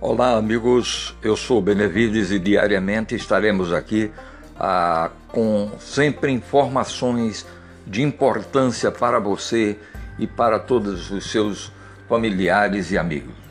Olá, amigos, eu sou Benevides e diariamente estaremos aqui com sempre informações de importância para você e para todos os seus familiares e amigos.